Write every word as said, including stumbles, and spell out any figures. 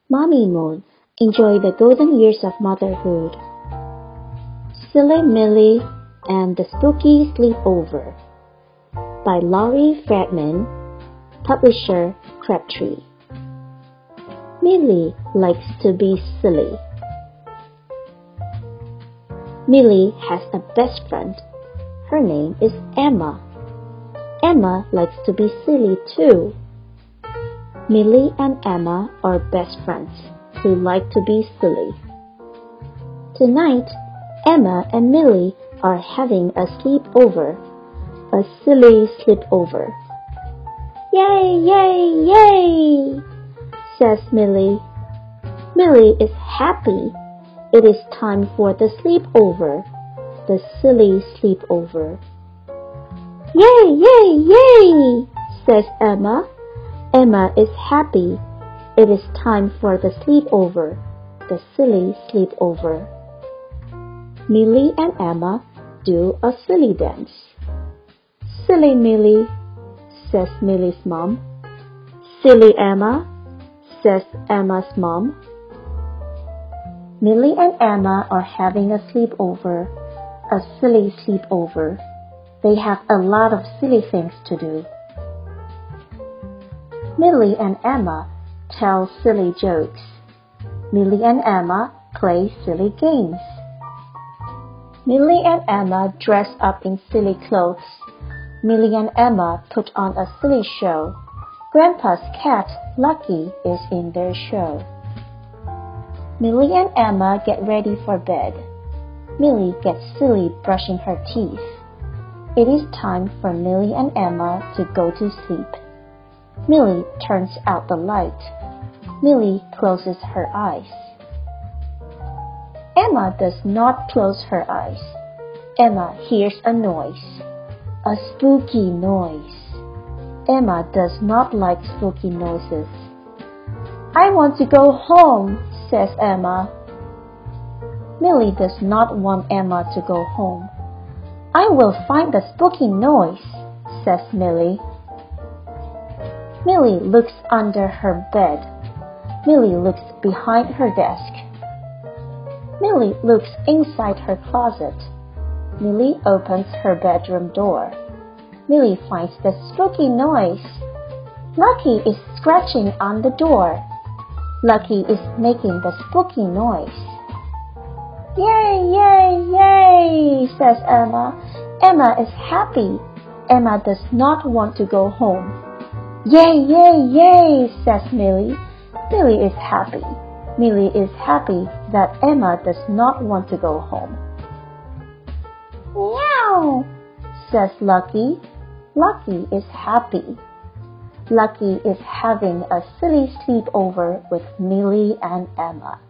Mommy Moon, enjoy the golden years of motherhood. Silly Millie and the Spooky Sleepover by Laurie Fredman, publisher Crabtree. Millie likes to be silly. Millie has a best friend. Her name is Emma. Emma likes to be silly too. Millie and Emma are best friends who like to be silly. Tonight, Emma and Millie are having a sleepover, a silly sleepover. Yay, yay, yay, says Millie. Millie is happy. It is time for the sleepover, the silly sleepover. Yay, yay, yay, says Emma. Emma is happy. It is time for the sleepover, the silly sleepover. Millie and Emma do a silly dance. Silly Millie, says Millie's mom. Silly Emma, says Emma's mom. Millie and Emma are having a sleepover, a silly sleepover. They have a lot of silly things to do. Millie and Emma tell silly jokes. Millie and Emma play silly games. Millie and Emma dress up in silly clothes. Millie and Emma put on a silly show. Grandpa's cat, Lucky, is in their show. Millie and Emma get ready for bed. Millie gets silly brushing her teeth. It is time for Millie and Emma to go to sleep. Millie turns out the light. Millie closes her eyes. Emma does not close her eyes. Emma hears a noise, a spooky noise. Emma does not like spooky noises. I want to go home, says Emma. Millie does not want Emma to go home. I will find the spooky noise, says Millie. Millie looks under her bed. Millie looks behind her desk. Millie looks inside her closet. Millie opens her bedroom door. Millie finds the spooky noise. Lucky is scratching on the door. Lucky is making the spooky noise. Yay, yay, yay, says Emma. Emma is happy. Emma does not want to go home. Yay, yay, yay, says Millie. Millie is happy. Millie is happy that Emma does not want to go home. Meow, says Lucky. Lucky is happy. Lucky is having a silly sleepover with Millie and Emma.